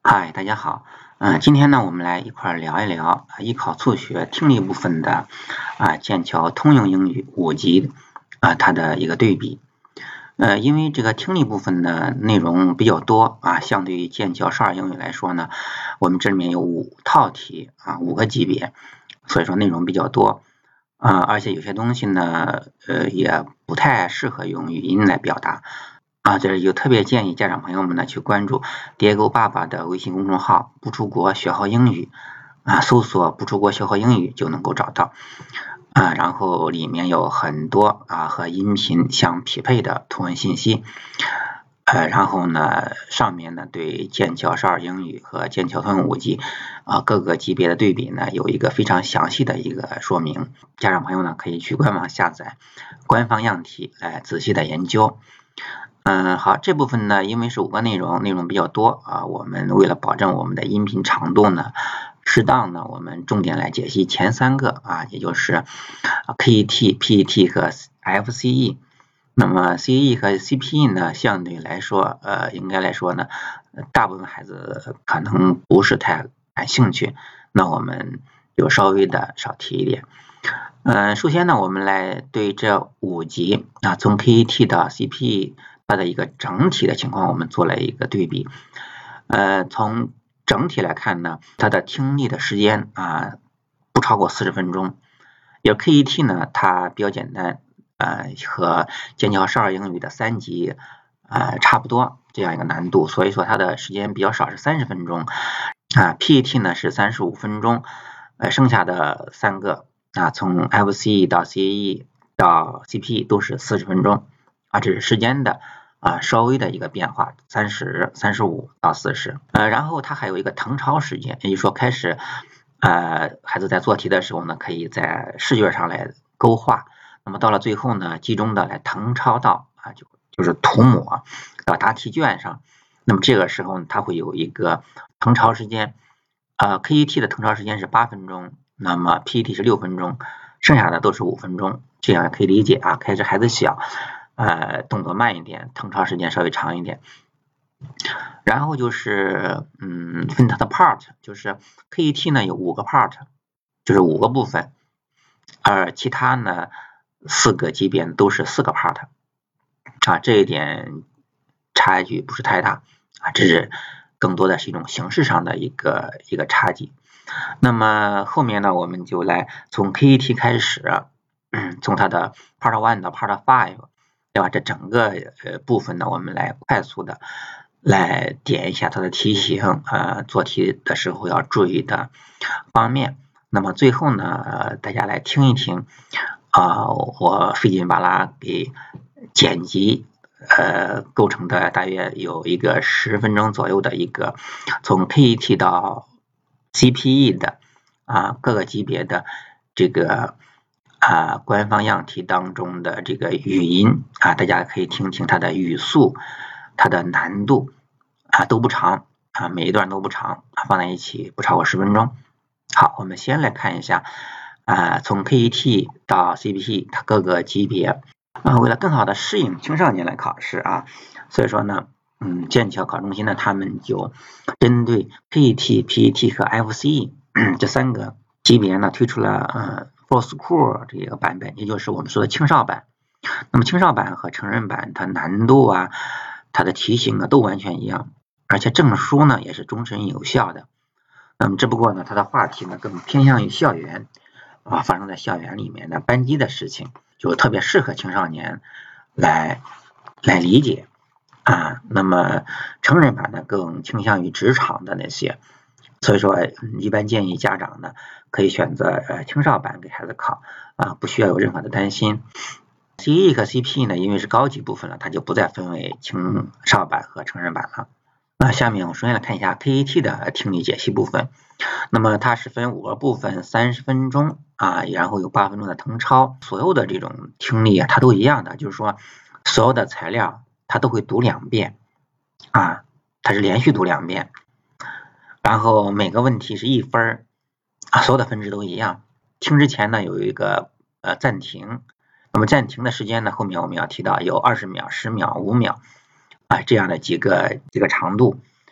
嗨，大家好。今天呢，我们来一块聊一聊艺考促学听力部分的剑桥通用英语5级它的一个对比。因为这个听力部分的内容比较多相对于剑桥少儿英语来说呢，我们这里面有5套题5个级别，所以说内容比较多而且有些东西呢也不太适合用语音来表达。这里就特别建议家长朋友们呢去关注蝶狗爸爸的微信公众号不出国学好英语搜索不出国学好英语就能够找到然后里面有很多和音频相匹配的图文信息然后呢上面呢对剑桥少儿英语和剑桥通用5级各个级别的对比呢有一个非常详细的一个说明，家长朋友呢可以去官网下载官方样题来仔细的研究。好，这部分呢，因为是5个内容比较多我们为了保证我们的音频长度呢，适当呢，我们重点来解析前3个也就是 KET、PET 和 FCE。那么 CE 和 CPE 呢，相对来说，应该来说呢，大部分孩子可能不是太感兴趣，那我们就稍微的少提一点。首先呢，我们来对这5级从 KET 到 CPE。它的一个整体的情况我们做了一个对比。从整体来看呢，它的听力的时间不超过40分钟。而 KET 呢，它比较简单和剑桥少儿英语的3级差不多这样一个难度，所以说它的时间比较少，是30分钟。PET 呢是35分钟，剩下的3个从 FCE 到 CE 到 CPE 都是40分钟这是时间的稍微的一个变化，30、35到40。然后它还有一个誊抄时间，也就是说开始孩子在做题的时候呢，可以在试卷上来勾画，那么到了最后呢，集中的来誊抄到就是涂抹到答题卷上。那么这个时候它会有一个誊抄时间KET 的誊抄时间是8分钟，那么 PET 是6分钟，剩下的都是5分钟，这样可以理解开始孩子小动作慢一点，誊抄时间稍微长一点。然后就是分它的 part， 就是 KET 呢有5个 part， 就是5个部分，而其他呢4个级别都是4个 part 这一点差距不是太大这是更多的是一种形式上的一个差距。那么后面呢，我们就来从 KET 开始从它的 part 1到 part 5，对吧？这整个部分呢，我们来快速的来点一下它的题型做题的时候要注意的方面。那么最后呢，大家来听一听我费劲巴拉给剪辑构成的大约有一个10分钟左右的一个从 KET 到 CPE 的各个级别的这个官方样题当中的这个语音大家可以听听它的语速，它的难度都不长每一段都不长放在一起不超过10分钟。好，我们先来看一下从 KET 到 CPE 它各个级别为了更好的适应青少年来考试所以说呢剑桥考中心呢他们就针对 KET、PET 和 FCE 这3个级别呢推出了For School 这个版本，也就是我们说的青少版。那么青少版和成人版它难度它的题型都完全一样，而且证书呢也是终身有效的。那么只不过呢它的话题呢更偏向于校园发生在校园里面的班级的事情，就特别适合青少年来理解那么成人版呢更倾向于职场的那些，所以说一般建议家长呢可以选择青少版给孩子考不需要有任何的担心。CE 和 CP 呢因为是高级部分了，它就不再分为青少版和成人版了。下面我首先来看一下 KET 的听力解析部分。那么它是分5个部分，30分钟然后有8分钟的誊抄，所有的这种听力它都一样的，就是说所有的材料它都会读2遍它是连续读2遍，然后每个问题是1分所有的分值都一样。听之前呢有一个暂停，那么暂停的时间呢后面我们要提到有20秒、10秒、5秒这样的几个长度。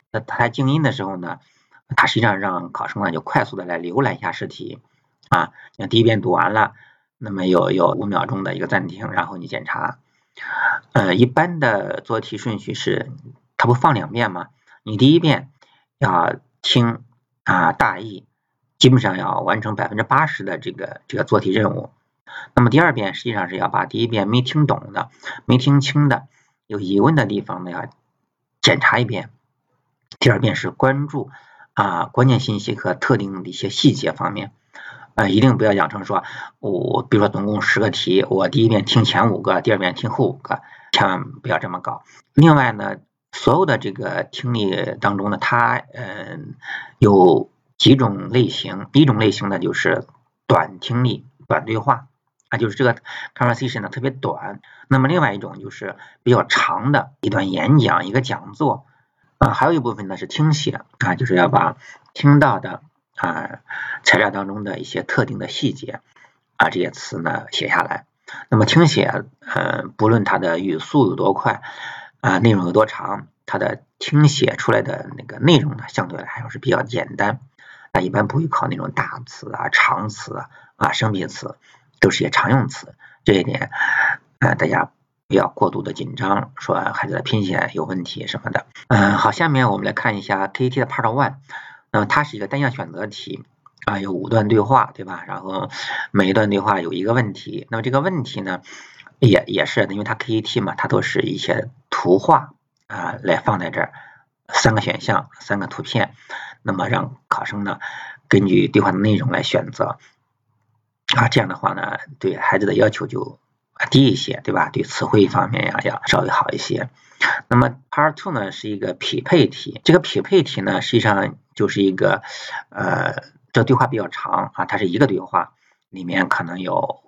它静音的时候呢，它实际上让考生呢就快速的来浏览一下试题啊，你第一遍读完了，那么有5秒钟的一个暂停，然后你检查。一般的做题顺序是，它不放2遍吗？你第一遍要听大意，基本上要完成80%的这个做题任务。那么第2遍实际上是要把第一遍没听懂的、没听清的、有疑问的地方呢要检查一遍。第2遍是关注关键信息和特定的一些细节方面。一定不要养成说，比如说总共10个题，我第一遍听前5个，第2遍听后5个，千万不要这么搞。另外呢，所有的这个听力当中呢，它有几种类型，一种类型呢就是短听力、短对话就是这个 conversation 呢特别短。那么另外一种就是比较长的一段演讲、一个讲座还有一部分呢是听写就是要把听到的材料当中的一些特定的细节这些词呢写下来。那么听写不论它的语速有多快内容有多长，它的听写出来的那个内容呢相对来还是比较简单。一般不会考那种大词长词生僻词，都是些常用词。这一点大家不要过度的紧张，说孩子的拼写有问题什么的。好，下面我们来看一下 KET 的 Part 1。那么它是一个单项选择题有5段对话，对吧？然后每一段对话有一个问题。那么这个问题呢也是因为它 KET 嘛，它都是一些图画来放在这儿，3个选项，3个图片，那么让考生呢根据对话的内容来选择这样的话呢对孩子的要求就低一些，对吧？对词汇方面要稍微好一些。那么 Part 2呢是一个匹配题，这个匹配题呢实际上就是一个这对话比较长它是一个对话，里面可能有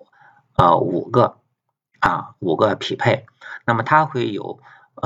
5个匹配，那么它会有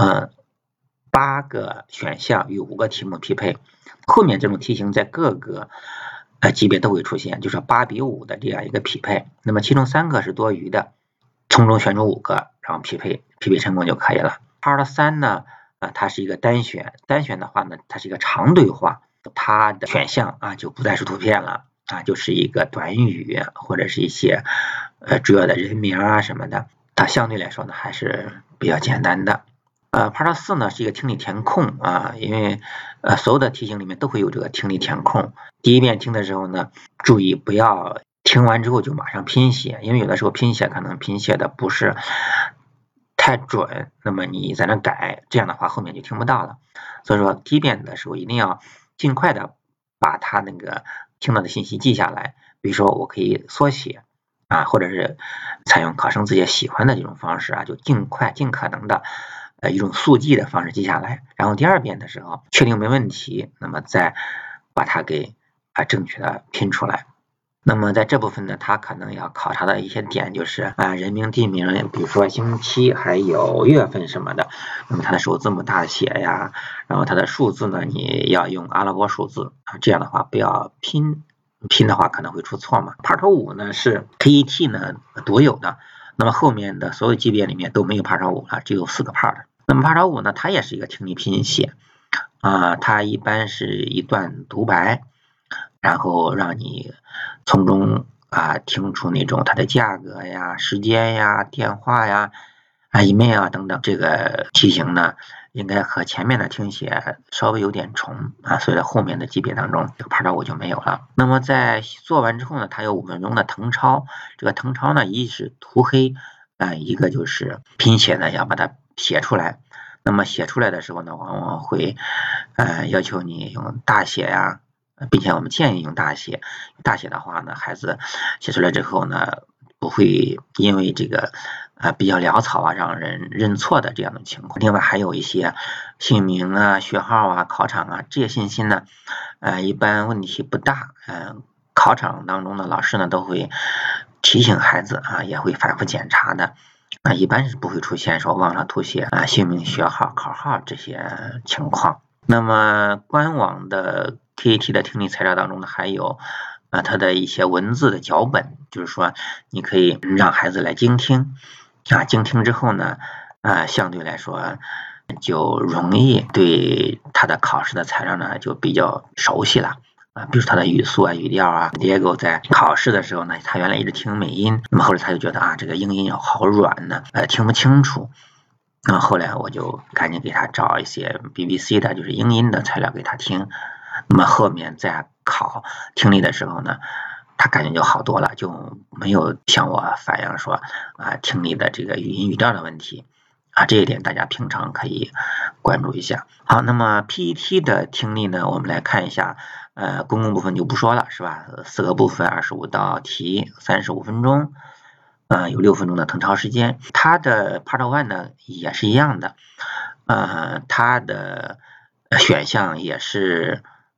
8个选项与5个题目匹配。后面这种题型在各个级别都会出现，就是8比5的这样一个匹配。那么其中3个是多余的，从中选出5个，然后匹配成功就可以了。Part 3呢它是一个单选的话呢，它是一个长对话，它的选项就不再是图片了就是一个短语或者是一些主要的人名什么的，它相对来说呢还是比较简单的。Part 4呢是一个听力填空因为所有的题型里面都会有这个听力填空。第一遍听的时候呢，注意不要听完之后就马上拼写，因为有的时候拼写可能拼写的不是太准，那么你在那改，这样的话后面就听不到了。所以说第一遍的时候一定要尽快的把它那个听到的信息记下来，比如说我可以缩写或者是采用考生自己喜欢的这种方式就尽可能的一种速记的方式记下来，然后第2遍的时候确定没问题，那么再把它给正确的拼出来。那么在这部分呢，它可能要考察的一些点就是人名地名，比如说星期还有月份什么的，那么它的首字母大写呀，然后它的数字呢你要用阿拉伯数字这样的话不要拼的话可能会出错嘛。Part 5呢是 KET 呢独有的，那么后面的所有级别里面都没有 Part 5了，只有4个 part。那么 Part 5呢它也是一个听力拼写它一般是一段独白，然后让你从中听出那种它的价格呀、时间呀、电话呀、email 等等。这个题型呢应该和前面的听写稍微有点重所以在后面的级别当中这个 Part 5就没有了。那么在做完之后呢，它有5分钟的誊抄，这个誊抄呢一是涂黑一个就是拼写呢要把它写出来。那么写出来的时候呢，往往会要求你用大写呀，并且我们建议用大写。大写的话呢，孩子写出来之后呢，不会因为这个比较潦草让人认错的这样的情况。另外还有一些姓名学号考场这些信息呢一般问题不大。考场当中的老师呢都会提醒孩子也会反复检查的。一般是不会出现说忘了涂写姓名、学号、考号这些情况。那么官网的 KET 的听力材料当中呢，还有它的一些文字的脚本，就是说你可以让孩子来精听，精听之后呢相对来说就容易对他的考试的材料呢就比较熟悉了。比如他的语速啊、语调啊。Diego 在考试的时候呢，他原来一直听美音，那么后来他就觉得这个英音好软呢，听不清楚。那后来我就赶紧给他找一些 BBC 的，就是英音的材料给他听。那么后面在考听力的时候呢，他感觉就好多了，就没有向我反映说听力的这个语音语调的问题。这一点大家平常可以关注一下。好，那么 PET 的听力呢，我们来看一下，公共部分就不说了，是吧？4个部分，25道题，35分钟，有6分钟的誊抄时间。它的 Part 1呢也是一样的，它的选项也是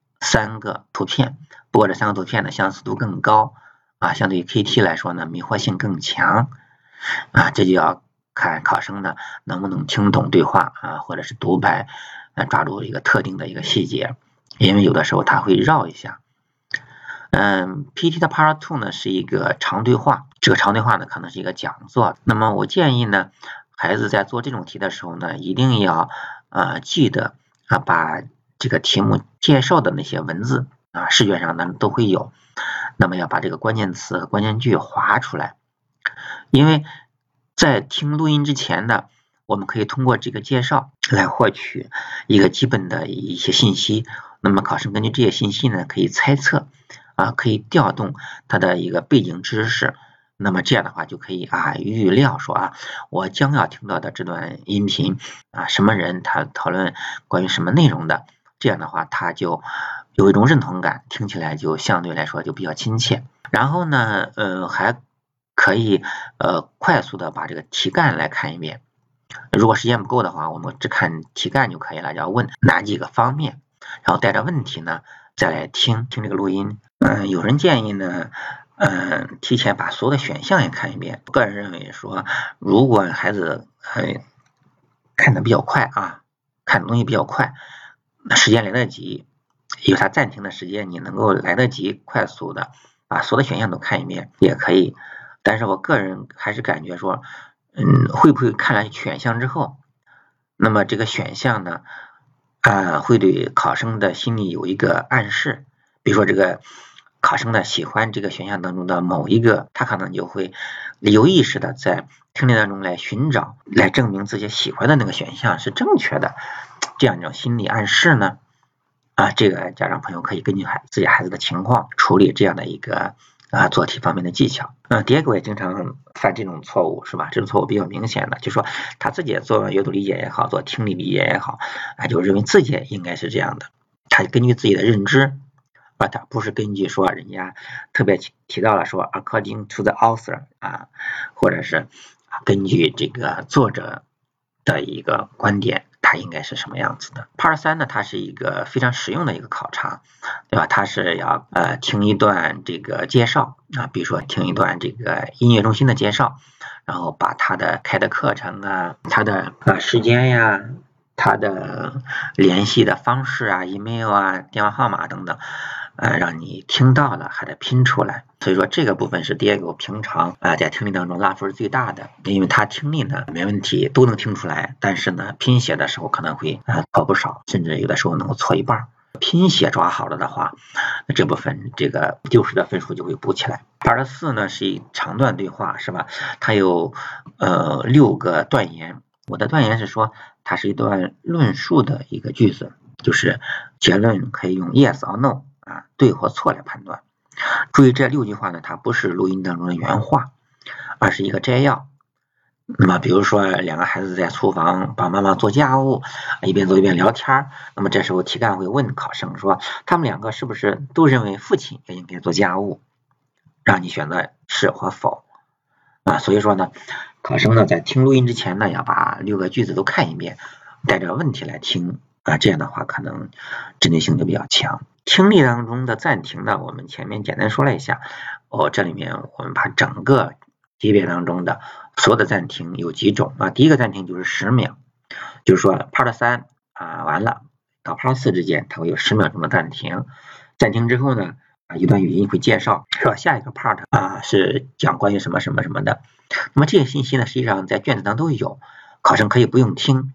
3个图片，不过这3个图片呢相似度更高，相对于 KT 来说呢迷惑性更强，这就要看考生呢能不能听懂对话或者是独白，抓住一个特定的一个细节，因为有的时候他会绕一下。PET 的 Part 2呢是一个长对话，这个长对话呢可能是一个讲座。那么我建议呢，孩子在做这种题的时候呢，一定要记得把这个题目介绍的那些文字视觉上呢都会有，那么要把这个关键词和关键句划出来，因为在听录音之前呢，我们可以通过这个介绍来获取一个基本的一些信息，那么考生根据这些信息呢可以猜测可以调动他的一个背景知识，那么这样的话就可以预料说我将要听到的这段音频什么人他讨论关于什么内容的，这样的话他就有一种认同感，听起来就相对来说就比较亲切。然后呢还可以快速的把这个题干来看一遍，如果时间不够的话，我们只看题干就可以了，要问哪几个方面，然后带着问题呢再来听这个录音。有人建议呢提前把所有的选项也看一遍。个人认为说，如果孩子看的比较快看的东西比较快，时间来得及，有他暂停的时间，你能够来得及快速的把所有的选项都看一遍也可以。但是我个人还是感觉说会不会看了选项之后，那么这个选项呢会对考生的心理有一个暗示，比如说这个考生呢喜欢这个选项当中的某一个，他可能就会有意识的在听力当中来寻找，来证明自己喜欢的那个选项是正确的，这样一种心理暗示呢这个家长朋友可以根据自己孩子的情况处理这样的一个做题方面的技巧。Diego 也经常犯这种错误，是吧？这种错误比较明显的，就是说他自己做阅读理解也好，做听力理解也好就认为自己应该是这样的，他根据自己的认知他不是根据说人家特别提到了说 according to the author 或者是根据这个作者的一个观点，它应该是什么样子的。Part 3呢，它是一个非常实用的一个考察，对吧？它是要听一段这个介绍比如说听一段这个音乐中心的介绍，然后把它的开的课程它的时间呀，它的联系的方式email电话号码等等让你听到了还得拼出来。所以说这个部分是Diego平常在听力当中拉分最大的，因为他听力呢没问题，都能听出来，但是呢拼写的时候可能会错不少，甚至有的时候能够错一半。拼写抓好了的话，那这部分这个丢失的分数就会补起来。Part 4呢是一长段对话，是吧？它有6个断言。我的断言是说它是一段论述的一个句子，就是结论可以用 yes or no 对或错来判断。注意这6句话呢，它不是录音当中的原话，而是一个摘要。那么比如说2个孩子在厨房帮妈妈做家务，一边做一边聊天，那么这时候题干会问考生说，他们2个是不是都认为父亲也应该做家务，让你选择是或否所以说呢，考生呢在听录音之前呢，要把6个句子都看一遍，带着问题来听这样的话可能针对性就比较强。听力当中的暂停呢，我们前面简单说了一下这里面我们把整个级别当中的所有的暂停有几种第一个暂停就是10秒，就是说 Part 3完了到 Part 4之间它会有10秒钟的暂停，暂停之后呢一段语音会介绍说下一个 part 是讲关于什么什么什么的。那么这些信息呢实际上在卷子当中都有，考生可以不用听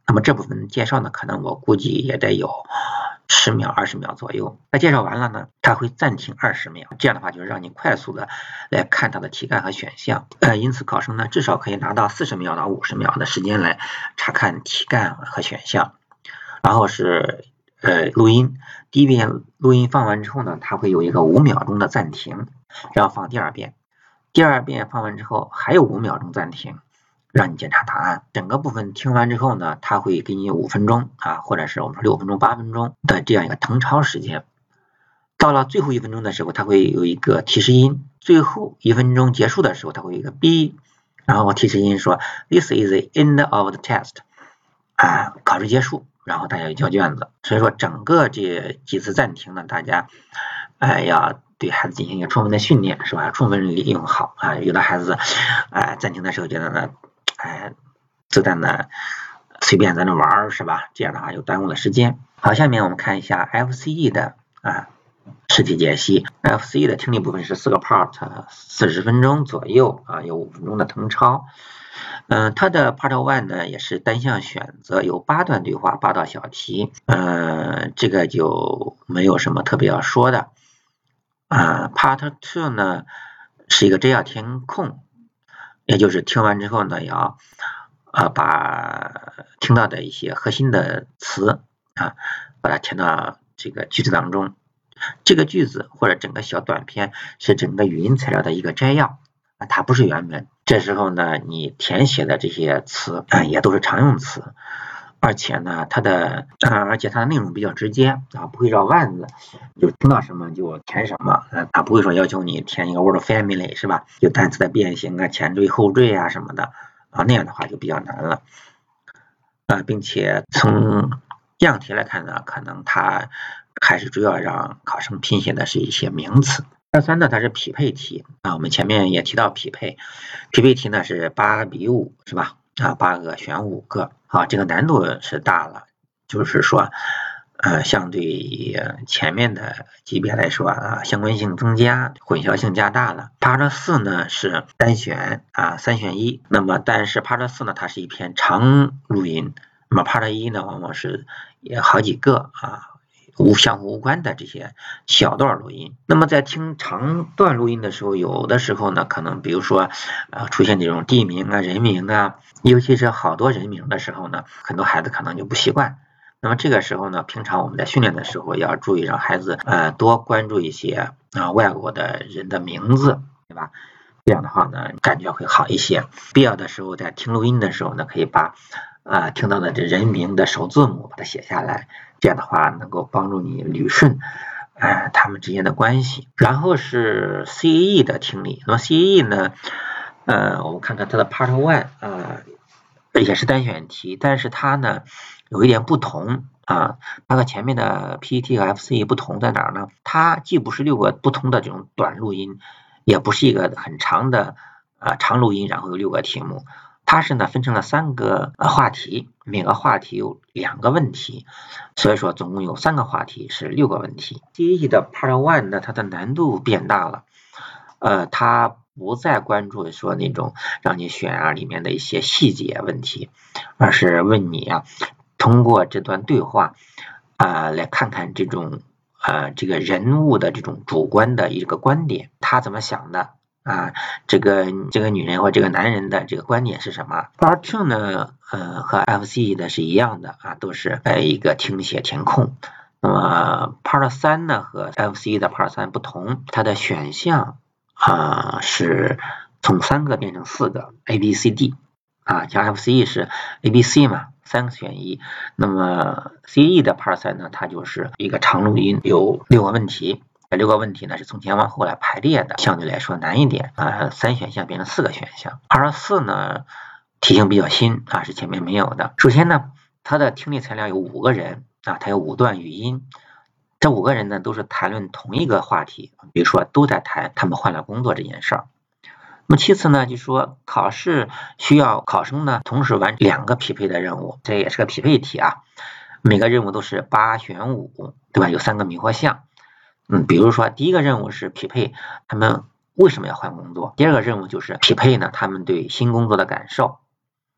那么这部分介绍呢，可能我估计也得有10秒、20秒左右。那介绍完了呢，它会暂停20秒，这样的话就是让你快速的来看它的题干和选项。因此考生呢至少可以拿到40秒到50秒的时间来查看题干和选项。然后是录音，第一遍录音放完之后呢，它会有一个5秒钟的暂停，然后放第二遍。第二遍放完之后还有5秒钟暂停，让你检查答案。整个部分听完之后呢，它会给你5分钟或者是我们说6分钟、8分钟的这样一个誊抄时间。到了最后1分钟的时候，它会有一个提示音，最后1分钟结束的时候，它会有一个 B， 然后提示音说 This is the end of the test， 考试结束，然后大家就交卷子。所以说整个这几次暂停呢，大家要对孩子进行一个充分的训练，是吧？充分利用好有的孩子暂停的时候觉得呢子弹呢随便在那玩，是吧？这样的话就耽误了时间。好，下面我们看一下 FCE 的试题解析。FCE 的听力部分是4个 part， 40分钟左右有5分钟的誊抄。它的 Part 1呢也是单项选择，有8段对话，8道小题。这个就没有什么特别要说的。Part 2呢是一个摘要填空，也就是听完之后呢要把听到的一些核心的词把它填到这个句子当中。这个句子或者整个小短片是整个语音材料的一个摘要它不是原文。这时候呢你填写的这些词也都是常用词，而且呢它的内容比较直接不会绕弯子，就听到什么就填什么不会说要求你填一个 word family， 是吧？就单词的变形前缀后缀什么的那样的话就比较难了并且从样题来看呢，可能它还是主要让考生拼写的是一些名词。Part 3呢它是匹配题我们前面也提到匹配题呢是8比5，是吧？8个选5个这个难度是大了，就是说相对于前面的级别来说相关性增加，混淆性加大了。Part 4呢是单选3选1，那么但是 Part 4呢它是一篇长录音，那么 Part 1呢往往是也好几个相互无关的这些小段录音。那么在听长段录音的时候，有的时候呢可能比如说出现这种地名人名尤其是好多人名的时候呢，很多孩子可能就不习惯。那么这个时候呢，平常我们在训练的时候要注意让孩子多关注一些外国的人的名字，对吧？这样的话呢感觉会好一些。必要的时候在听录音的时候呢，可以把听到的这人名的首字母把它写下来，这样的话能够帮助你捋顺他们之间的关系。然后是 CAE 的听力。那么 CAE 呢我们看看它的 Part 1也是单选题，但是它呢有一点不同它和前面的 PET 和 FCE 不同在哪儿呢？它既不是6个不同的这种短录音，也不是一个很长的长录音然后有6个题目，它是呢分成了3个话题，每个话题有2个问题，所以说总共有3个话题是6个问题。CAE 的 Part 1呢它的难度变大了，它不再关注说那种让你选里面的一些细节问题，而是问你通过这段对话来看看这种这个人物的这种主观的一个观点，他怎么想的这个女人或这个男人的这个观点是什么。Part 2呢和 FCE 的是一样的都是一个听写填空。那么 Part 3呢和 FCE 的 Part 3不同，它的选项是从3个变成4个 ABCD像 FCE 是 ABC 嘛，3个选1。那么 CAE 的 Part 3呢，它就是一个长录音，有6个问题，这6个问题呢是从前往后来排列的，相对来说难一点3选项变成4个选项。Part 4呢题型比较新是前面没有的。首先呢它的听力材料有5个人它有5段语音，这5个人呢都是谈论同一个话题，比如说都在谈他们换了工作这件事儿。那么其次呢，就是说考试需要考生呢同时完成2个匹配的任务，这也是个匹配题每个任务都是8选5，对吧？有3个迷惑项。比如说第一个任务是匹配他们为什么要换工作，第二个任务就是匹配呢他们对新工作的感受，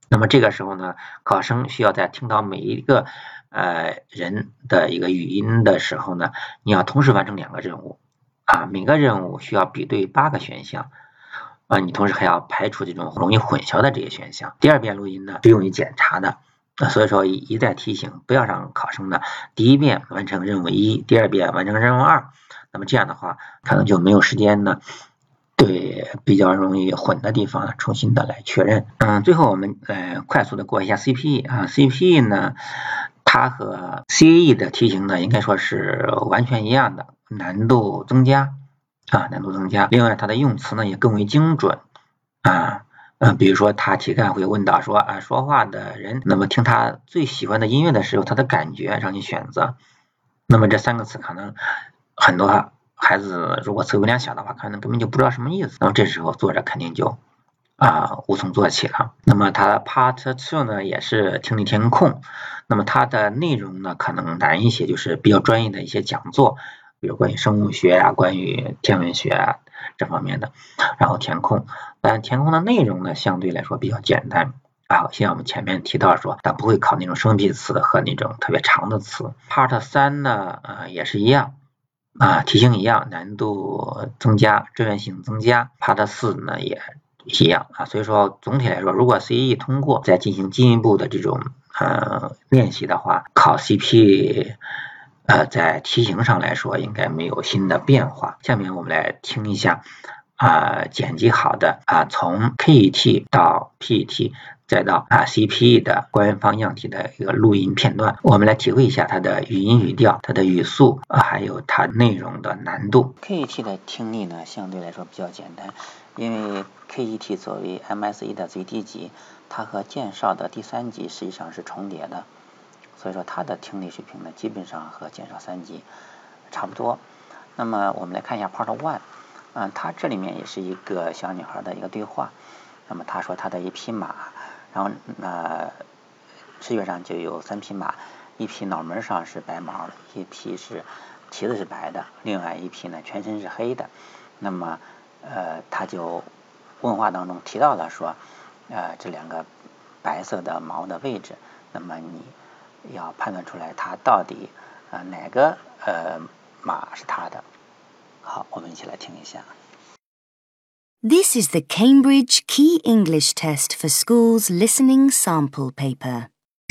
那么这个时候呢，考生需要在听到每一个人的一个语音的时候呢，你要同时完成2个任务每个任务需要比对8个选项你同时还要排除这种容易混淆的这些选项。第2遍录音呢是用于检查的所以说一再提醒，不要让考生呢第1遍完成任务1，第2遍完成任务2，那么这样的话可能就没有时间呢对比较容易混的地方重新的来确认。最后我们快速的过一下 CPE CPE 呢，它和 CAE 的题型呢应该说是完全一样的，难度增加难度增加。另外它的用词呢也更为精准比如说他题干会问到说说话的人，那么听他最喜欢的音乐的时候，他的感觉让你选择。那么这3个词可能很多孩子如果词汇量小的话，可能根本就不知道什么意思。那么这时候作者肯定就无从做起了。那么它 Part 2呢也是听力填空，那么它的内容呢可能难一些，就是比较专业的一些讲座，比如关于生物学关于天文学这方面的，然后填空。但填空的内容呢相对来说比较简单像我们前面提到说，它不会考那种生僻词和那种特别长的词。Part 3呢也是一样题型一样，难度增加，志愿性增加。Part 4呢也一样所以说总体来说，如果 CAE 通过再进行进一步的这种练习的话，考 CP在题型上来说应该没有新的变化。下面我们来听一下剪辑好的从 KET 到 PET 再到CPE 的官方样题的一个录音片段，我们来体会一下它的语音语调、它的语速还有它内容的难度。KET 的听力呢相对来说比较简单，因为 KET 作为 MSE 的最低级，它和剑少的第3级实际上是重叠的，所以说它的听力水平呢基本上和剑少3级差不多。那么我们来看一下 Part 1它这里面也是一个小女孩的一个对话。那么她说她的一匹马，然后视觉上就有3匹马，一匹脑门上是白毛的，一匹是蹄子是白的，另外一匹呢全身是黑的。那么她就问话当中提到了说这2个白色的毛的位置，那么你要判断出来它到底哪个马是它的。好，我们一起来听一下。 This is the Cambridge Key English Test for Schools Listening Sample Paper.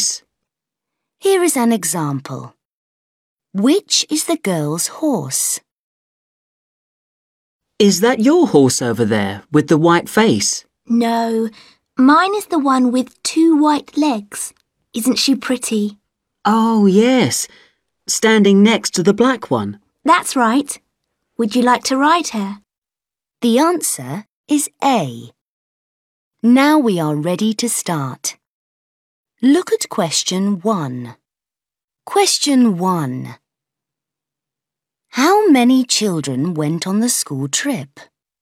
Here is an example. Which is the girl's horse? Is that your horse over there with the white face? No, mine is the one with 2 white legs. Isn't she pretty? Oh, yes. Standing next to the black one. That's right. Would you like to ride her? The answer is A. Now we are ready to start. Look at question 1. Question 1. How many children went on the school trip?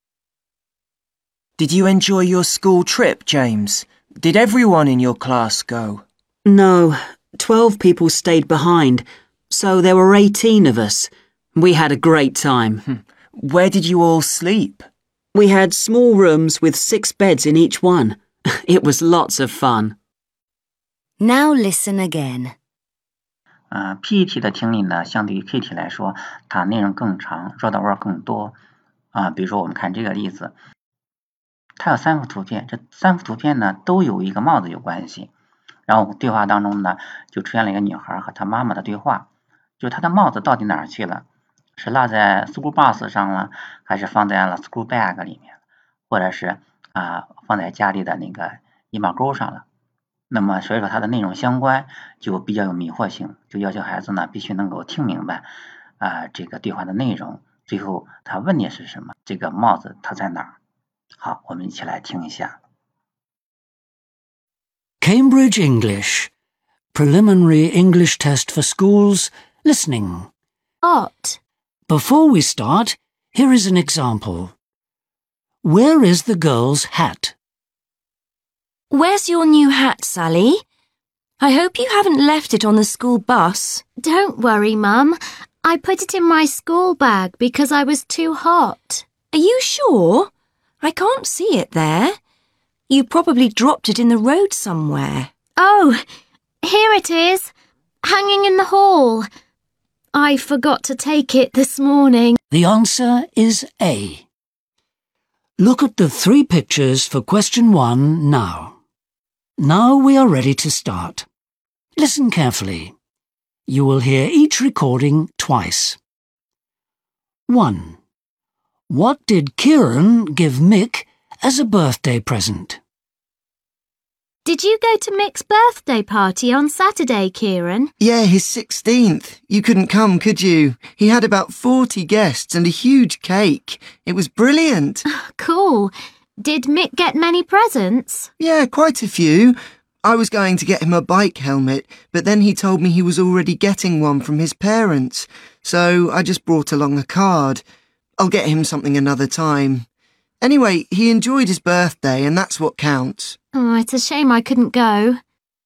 Did you enjoy your school trip, James? Did everyone in your class go? No, 12 people stayed behind, so there were 18 of us. We had a great time. Where did you all sleep? We had small rooms with 6 beds in each one. It was lots of fun. Now listen again. PET 的听力呢，相对于 KT 来说，它内容更长，绕道弯更多比如说我们看这个例子，它有3幅图片，这3幅图片呢都有一个帽子有关系。然后对话当中呢，就出现了一个女孩和她妈妈的对话，就是她的帽子到底哪儿去了？是落在 school bus 上了，还是放在了 school bag 里面，或者是放在家里的那个衣帽钩上了？那么所以说它的内容相关就比较有迷惑性，就要求孩子呢必须能够听明白这个对话的内容，最后他问的是什么，这个帽子它在哪儿？好，我们一起来听一下。 Cambridge English Preliminary English Test for Schools Listening. Art. Before we start, here is an example. Where is the girl's hat? Where's your new hat, Sally? I hope you haven't left it on the school bus. Don't worry, Mum. I put it in my school bag because I was too hot. Are you sure? I can't see it there. You probably dropped it in the road somewhere. Oh, here it is, hanging in the hall. I forgot to take it this morning. The answer is A. Look at the 3 pictures for question 1 now. Now we are ready to start. Listen carefully. You will hear each recording twice. 1. What did Kieran give Mick as a birthday present? Did you go to Mick's birthday party on Saturday, Kieran? Yeah, his 16th. You couldn't come, could you? He had about 40 guests and a huge cake. It was brilliant. Cool. Did Mick get many presents? Yeah, quite a few. I was going to get him a bike helmet, but then he told me he was already getting one from his parents. So I just brought along a card. I'll get him something another time. Anyway, he enjoyed his birthday and that's what counts. Oh, it's a shame I couldn't go.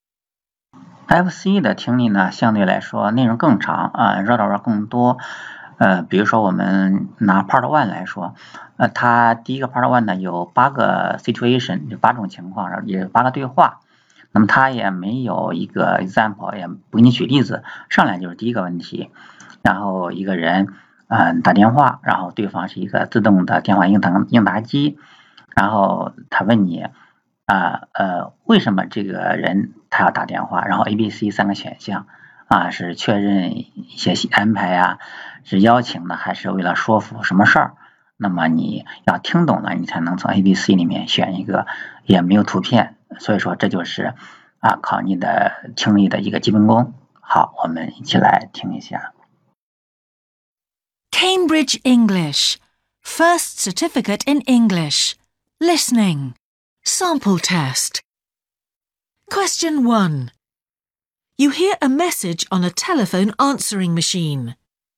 FC 的听力呢，相对来说内容更长绕道绕更多。比如说我们拿 Part 1来说，它第一个 Part 1呢有8个 situation， 就8种情况，然后也有8个对话。那么它也没有一个 example， 也不给你举例子，上来就是第一个问题，然后一个人打电话，然后对方是一个自动的电话应答机，然后他问你为什么这个人他要打电话，然后 A、B、C 3个选项是确认一些安排啊，是邀请的还是为了说服什么事儿，那么你要听懂了你才能从 A、B、C 里面选一个，也没有图片，所以说这就是考你的听力的一个基本功。好，我们一起来听一下。 Cambridge English. First certificate in English. Listening. Sample test. Question 1. You hear a message on a telephone answering machine.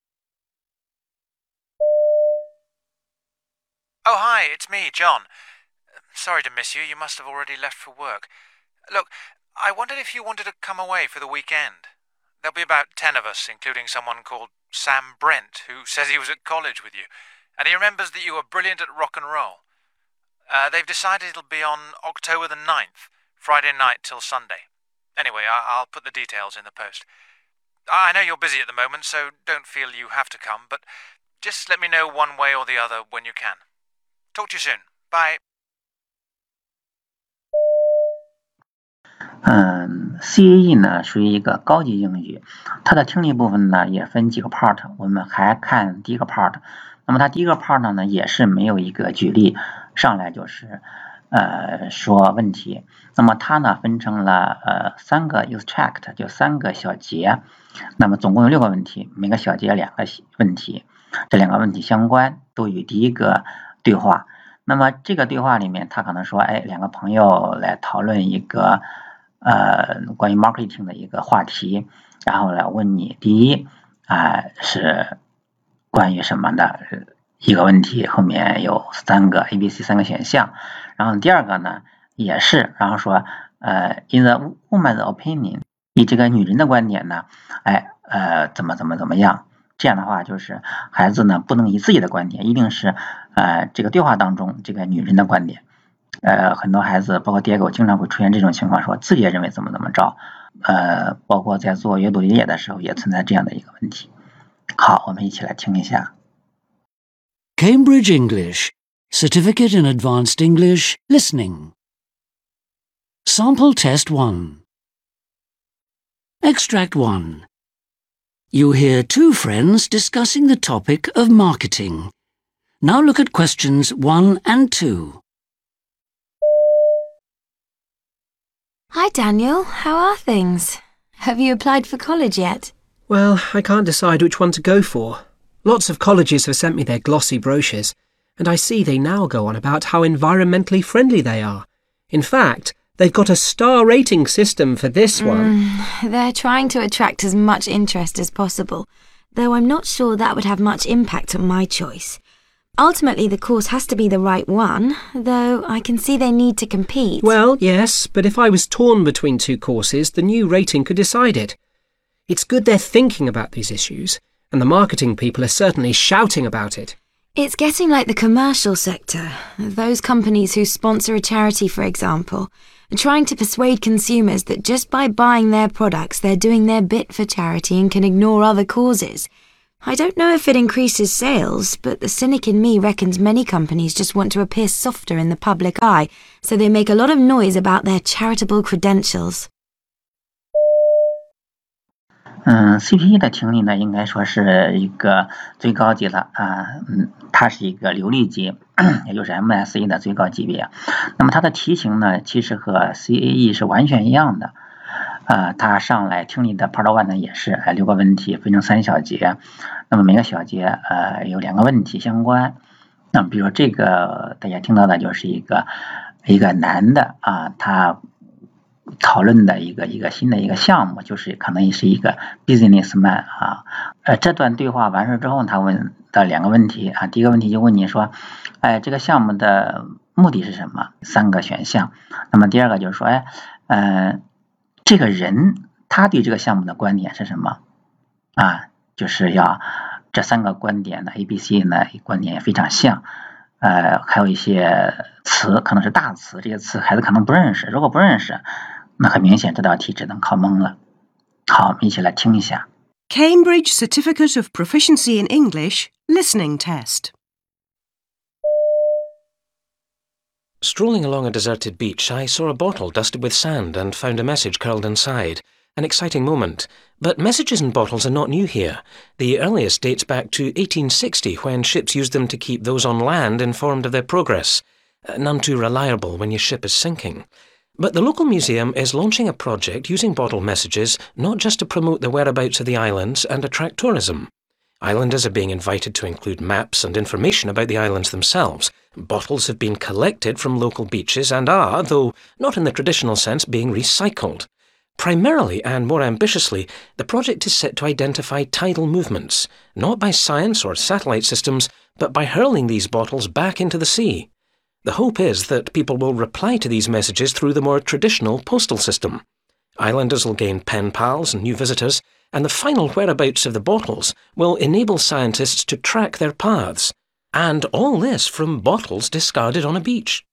Oh, hi, it's me, John. Sorry to miss you. You must have already left for work. Look, I wondered if you wanted to come away for the weekend. There'll be about 10 of us, including someone called Sam Brent, who says he was at college with you, and he remembers that you were brilliant at rock and roll. They've decided it'll be on October the 9th, Friday night till Sunday. Anyway, I'll put the details in the post. I know you're busy at the moment, so don't feel you have to come, but just let me know one way or the other when you can. Talk to you soon. Bye. CAE 呢属于一个高级英语，它的听力部分呢也分几个 part， 我们还看第一个 part。那么它第一个 part 呢也是没有一个举例，上来就是说问题。那么它呢分成了3个 use tract， 就3个小节。那么总共有6个问题，每个小节2个问题，这2个问题相关，都与第一个对话。那么这个对话里面，他可能说，2个朋友来讨论一个关于 marketing 的一个话题，然后来问你，第一是关于什么的一个问题，后面有3个 A、B、C 3个选项，然后第二个呢也是，然后说in the woman's opinion， 以这个女人的观点呢，怎么样。这样的话就是孩子呢不能以自己的观点，一定是这个对话当中这个女人的观点。很多孩子包括Diego经常会出现这种情况，说自己也认为怎么着，包括在做阅读理解的时候也存在这样的一个问题。好，我们一起来听一下。 Cambridge English, Certificate in Advanced English, Listening. Sample Test 1. Extract 1. You hear 2 friends discussing the topic of marketing. Now look at questions 1 and 2. Hi, Daniel. How are things? Have you applied for college yet? Well, I can't decide which one to go for. Lots of colleges have sent me their glossy brochures, and I see they now go on about how environmentally friendly they are. In fact, they've got a star rating system for this one. They're trying to attract as much interest as possible, though I'm not sure that would have much impact on my choice. Ultimately, the course has to be the right one, though I can see they need to compete. Well, yes, but if I was torn between 2 courses, the new rating could decide it. It's good they're thinking about these issues, and the marketing people are certainly shouting about it. It's getting like the commercial sector. Those companies who sponsor a charity, for example, are trying to persuade consumers that just by buying their products, they're doing their bit for charity and can ignore other causes. I don't know if it increases sales, but the cynic in me reckons many companies just want to appear softer in the public eye, so they make a lot of noise about their charitable credentials. CPE 的听力呢，应该说是一个最高级的它是一个流利级，也就是 MSE 的最高级别。那么它的题型呢，其实和 CAE 是完全一样的。它上来听力的 Part 1呢也是6个问题分成3小节，那么每个小节有2个问题相关。那么比如说这个大家听到的就是一个男的他讨论的一个新的一个项目，就是可能是一个 businessman 这段对话完事之后，他问的2个问题第一个问题就问你说，这个项目的目的是什么？3个选项。那么第二个就是说，这个人他对这个项目的观点是什么？就是要这3个观点的 ABC 呢观点也非常像。还有一些词可能是大词，这些词孩子可能不认识，如果不认识，那很明显这道题只能靠蒙了。好，我们一起来听一下。 Cambridge Certificate of Proficiency in English Listening Test. Strolling along a deserted beach, I saw a bottle dusted with sand and found a message curled inside. An exciting moment. But messages in bottles are not new here. The earliest dates back to 1860, when ships used them to keep those on land informed of their progress. None too reliable when your ship is sinking. But the local museum is launching a project using bottle messages not just to promote the whereabouts of the islands and attract tourism. Islanders are being invited to include maps and information about the islands themselves. Bottles have been collected from local beaches and are, though not in the traditional sense, being recycled. Primarily and more ambitiously, the project is set to identify tidal movements, not by science or satellite systems, but by hurling these bottles back into the sea. The hope is that people will reply to these messages through the more traditional postal system. Islanders will gain pen pals and new visitors, and the final whereabouts of the bottles will enable scientists to track their paths. And all this from bottles discarded on a beach.